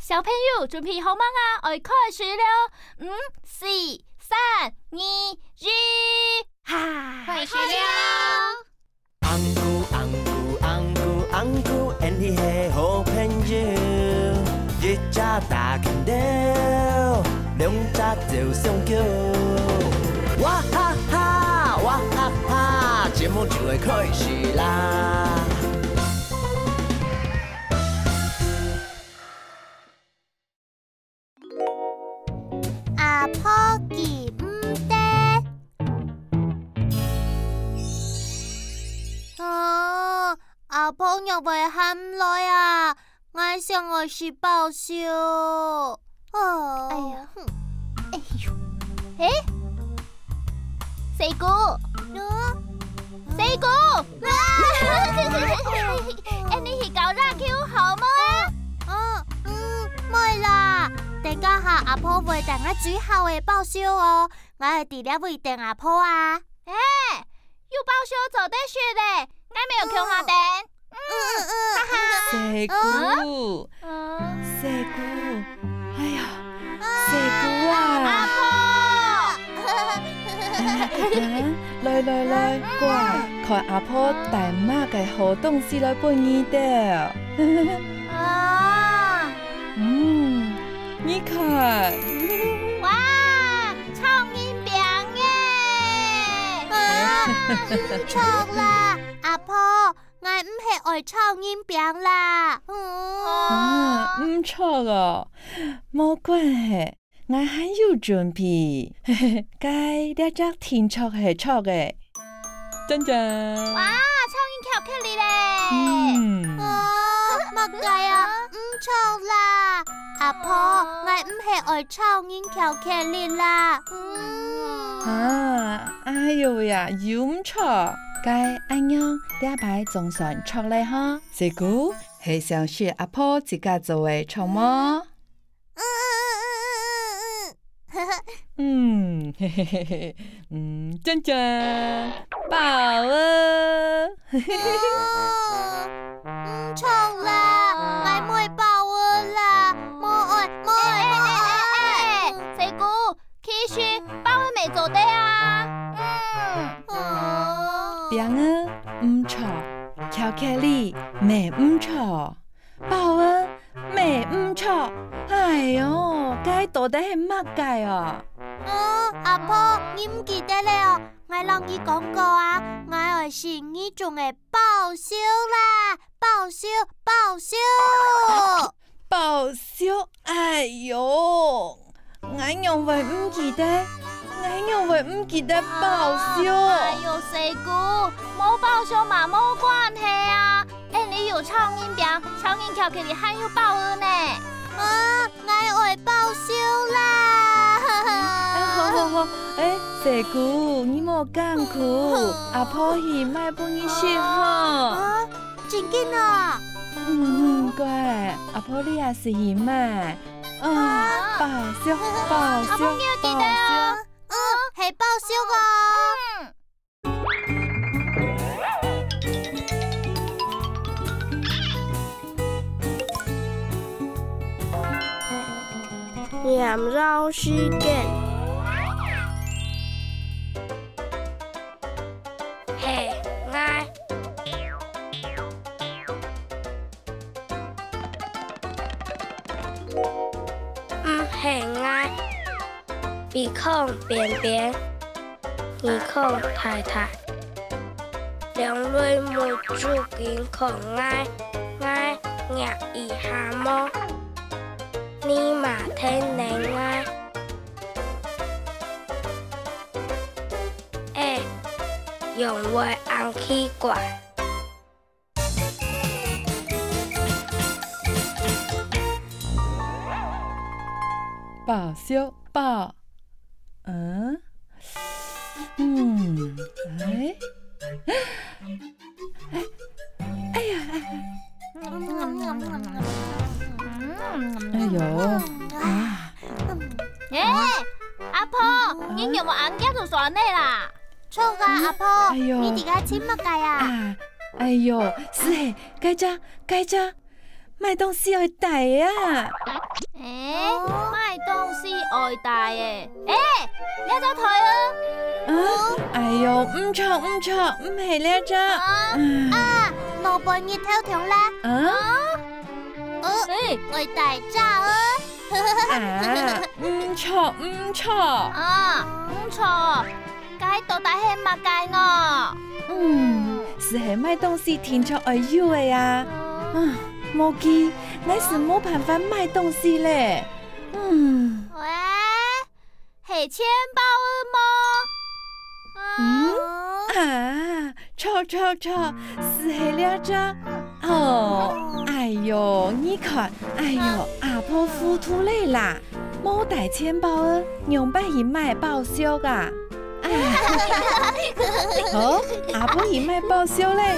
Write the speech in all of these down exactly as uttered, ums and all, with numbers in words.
小朋友準備好嗎啊？我開始了，五、四、三、二、一，哈！開始了。 紅姑紅姑紅姑紅姑 ，and 你係好朋友，一隻大拳頭，兩隻就上橋。哇哈哈，哇哈哈，節目就會開始啦！ 阿婆記唔得，啊！阿婆又會喊來啊！我想我去報銷。哦， 哎呀，哎呦，誒，四姑，四姑，誒，你去搞熱 Q 好嗎？ 嗯嗯，冇啦。等家下阿婆會等我最後嘅報銷哦，我係啲咧會等阿婆啊。 誒，要報銷就得說咧，我沒有求下等。 嗯嗯，哈哈。 四姑，四姑，哎呀，四姑啊！ 阿婆， 來來來，乖，看阿婆帶乜嘅好東西來俾你的。 啊， 嗯，你看， 哇，蒼蠅餅耶！ 啊，唔錯啦，阿婆，我唔係愛蒼蠅餅啦。 啊，唔錯哦，冇關係，我還有準備，嘿嘿，該兩隻挺錯係錯嘅，真真。 哇，蒼蠅巧克力咧！ 嗯。 啊，乜計啊？唔錯啦，阿婆，我唔係愛蒼蠅巧克力啦。嗯。 啊，哎呦呀，又唔錯，該安樣兩排總算錯咧哈。四姑係想學阿婆自家做嘅錯麼？ 嗯嗯嗯嗯嗯嗯，嘿嘿嘿嘿，嗯，真真，寶啊！ 唔錯啦，我冇包啊啦，冇愛冇愛冇愛。 四姑，其實包會未做得啊。 嗯。 餅啊，唔錯，巧克力未唔錯，寶啊，未唔錯。哎呦，該到底係乜計啊？ 嗯，阿婆，你唔記得了？我讓你講過啊，我係是你種嘅報銷啦，報銷報銷。 報銷，哎呦，我又會唔記得，我又會唔記得報銷。 哎呦，四姑，冇報銷嘛冇關係啊。誒，你有蒼蠅餅、蒼蠅巧克力，還有報恩呢。 啊，我會報銷啦。 好好好，誒，四姑，你莫艱苦，阿婆係買俾你食哈。 啊，真嘅啊！ 嗯，乖，阿婆你也是係買。啊，報銷，報銷， 阿婆你要記得哦。 嗯，係報銷個。 嗯。 廿繞時間，係我，唔係我，鼻孔扁扁，耳孔大大，兩類冇住健康愛，愛壓一下麼？你嘛聽你愛，誒，用會硬奇怪。 報銷報，嗯，嗯，哎，哎，哎呀，哎呦，啊， 誒，阿婆，你有冇眼鏡同鎖呢啦？ 錯噶，阿婆， 哎呦你哋家錢乜計啊？ 啊，哎呦，是嘿，該隻該隻。 买东西要带啊！ 诶，买东西爱带诶，诶，你做台啊？ 啊！哎呦，唔错唔错，唔系咧只。 啊，老伴熱偷條啦！ 啊？ 哦， 诶， 我大炸啊！ 啊，唔错唔错。 啊，唔錯，該到底係乜計我？ 嗯，是系买东西天出爱有的呀。啊，莫记，我是冇办法买东西咧。嗯。 喂，係錢包啊嗯啊，错错错，是系了只。哦，哎呦，你看，哎呦，阿婆糊涂嘞啦，冇带钱包啊，用白去买报销噶。哎，好，阿婆去买报销嘞。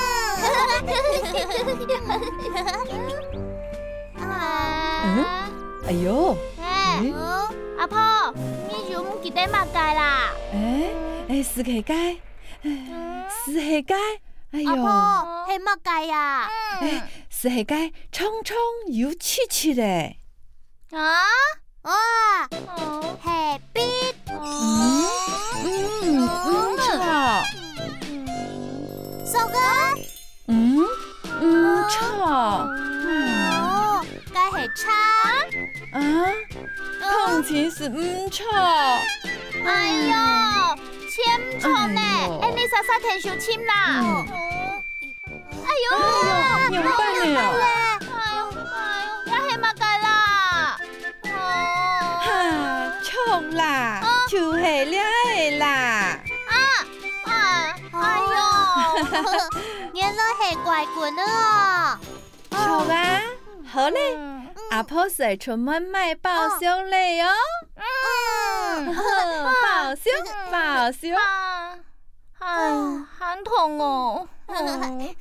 嗯，哎呦， 誒，阿婆，你就唔記得乜計啦？ 哎哎，是系该，是系该，哎呦。 阿婆係乜計啊？ 哎，是系该冲冲又气气嘞。 啊？ 哇，係必嗯嗯唔错。 收個？ 嗯唔错。 哦，該係叉。 啊，空氣是唔错。 哎呦，簽錯呢？ 哎呦誒，你實實聽小簽啦。 嗯哎呦， 哎呦，用辦了。 哎呦，哎呦，也係乜計啦？哦， 哈，錯啦，就係了的啦。 啊，啊，哎呦， 原來係怪棍啊！ 錯啊，好嘞，阿婆水出門買報銷嘞喲。 嗯， 報銷，報銷。 啊，唉，很痛哦。嗯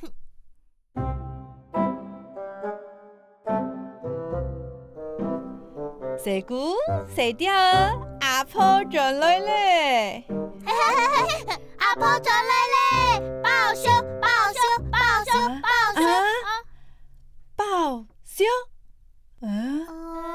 蛇姑，蛇雕，阿婆轉來咧。 阿婆再嚟咧，報銷，報銷，報銷，報銷。 啊，報銷？嗯，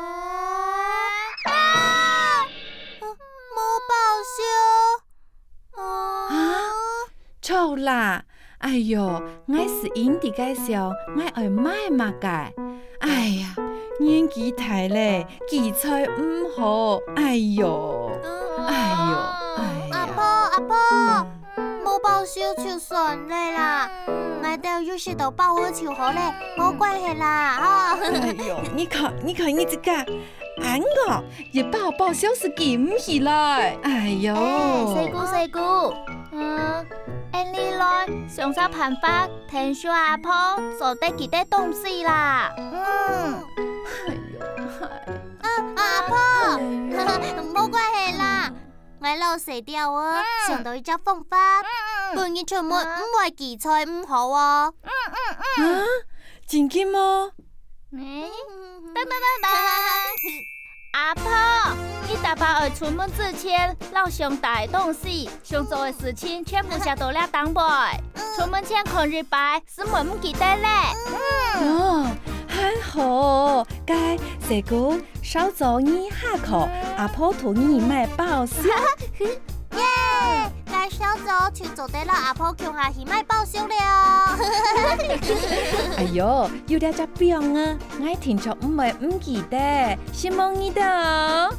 啊！冇報銷。 啊，錯啦！哎呦，我是因地介紹，我愛買嘛嘅。哎呀，年紀大咧，記載唔好。哎呦，哎呦，哎阿婆， 呀。 阿婆，冇報銷就算你啦，我哋有時都報好就好咧，冇關係啦，嗬。 哎呦，你看，你看你這個，俺個一報報銷是記唔起來。哎呦， 四姑四姑，嗯，誒你來想啥辦法聽說阿婆做得幾多東西啦？嗯， 哎呦， 啊，阿婆，冇關係啦，我老死掉啊，想到一隻方法，半夜出門唔會記錯唔好啊。 啊，真嘅麼？ 誒，等等等等，阿婆，你大伯兒出門之前，老想帶東西，想做的事情全部寫到了檔背。出門前看日牌，是冇唔記得咧。 哦，很好，該這個少做你下課，阿婆同你買報銷。 耶！介紹咗就做得啦，阿婆叫下去買報銷了。 哎呦，有點只病啊，我聽出唔會唔記得，希望你的哦。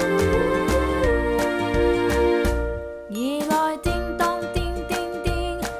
夜來叮當叮叮叮，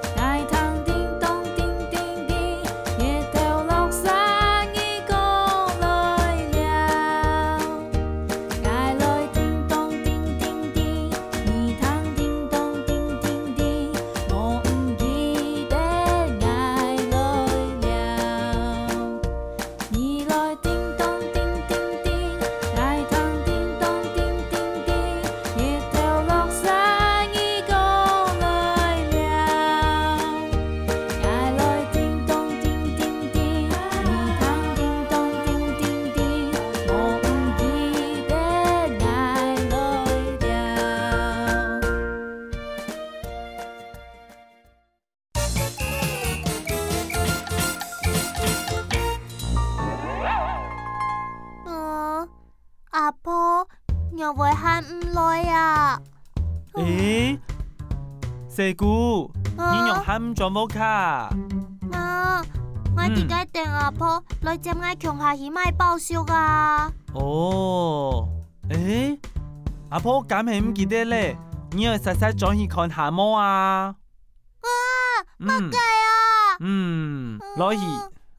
唔來啊！ 誒，四姑，你用喊咗冇卡？ 啊，我點解訂阿婆來接我鄉下去買報銷啊？ 哦，誒，阿婆咁係唔記得咧，你要實實轉去看下麼啊？ 啊，乜計啊？ 嗯，攞去。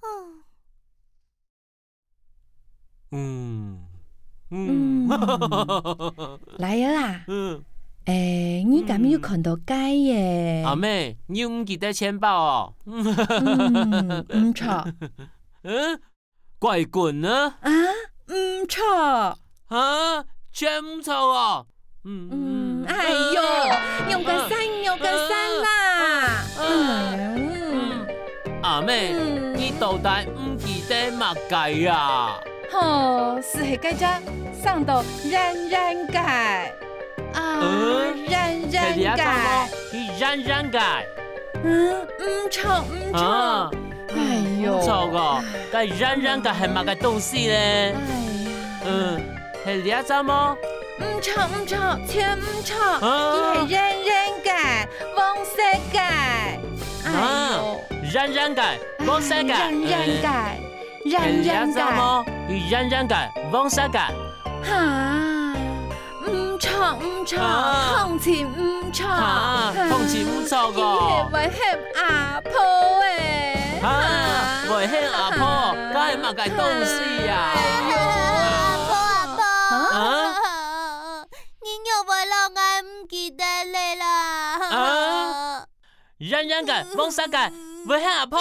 嗯嗯，來啊啦！ 嗯， 誒，你咁要看到街耶？ 阿妹，你唔記得錢包哦？ 嗯，唔錯。 嗯，怪棍呢？ 啊，唔錯。 啊，全唔錯哦。嗯嗯，哎呦，用個山，用個山啦。嗯， 阿妹，你到底唔記得乜計啊？ 哦，是係計咗上到人人界啊，人人界， 係人人界。 嗯，唔錯唔錯。哎呦， 唔錯個，但係人人界係乜嘅東西咧？ 哎呀， 嗯，係呢一隻麼？ 唔錯唔錯，全唔錯，佢係人人界，黃色界。哎呦， 人人界，黃色界， 人人界，人人界。 人人界，黃色界。 吓，唔錯唔錯，空氣唔錯， 空氣唔錯個。 係為係阿婆誒， 吓，為係阿婆，梗係乜嘅東西啊？ 阿婆阿婆， 啊， 你又為了我唔記得你啦。 啊，人人界，黃色界，為係阿婆。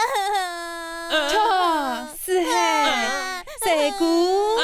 錯，是係。四姑，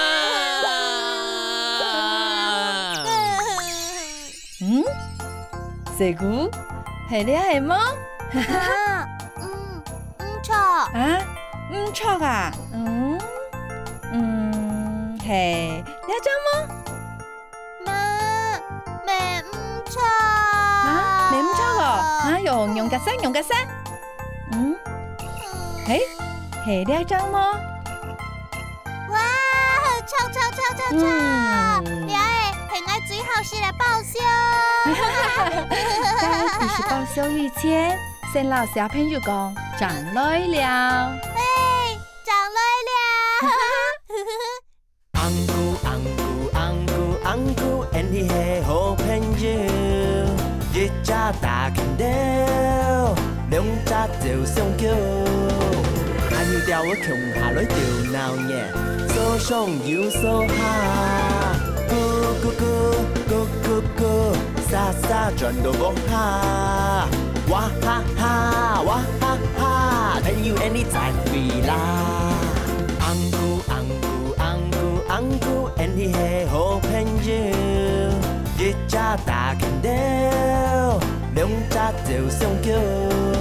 嗯，四姑，係你係麼？ 嗯，唔錯。 啊，唔錯啊，嗯，嗯，係你一張麼？ 媽，未唔錯。 啊，你唔錯個，啊，用用個聲，用個聲，嗯，係係你一張麼？ 哇，臭臭臭臭臭！你係係我最後是嚟報銷。 在開始報銷以前，先老小朋友講長來了。 嘿，長來了。 紅姑紅姑紅姑紅姑，and he 係好朋友，一隻大拳頭，兩隻就相叫。阿要掉我窮下來掉鬧耶。所上要所下，咕咕咕咕咕咕，沙沙轉到落下，哇哈哈哇哈哈，睇要 any 在飛啦。紅姑紅姑紅姑紅姑，and 係好朋友，一隻大拳頭，兩隻就相叫。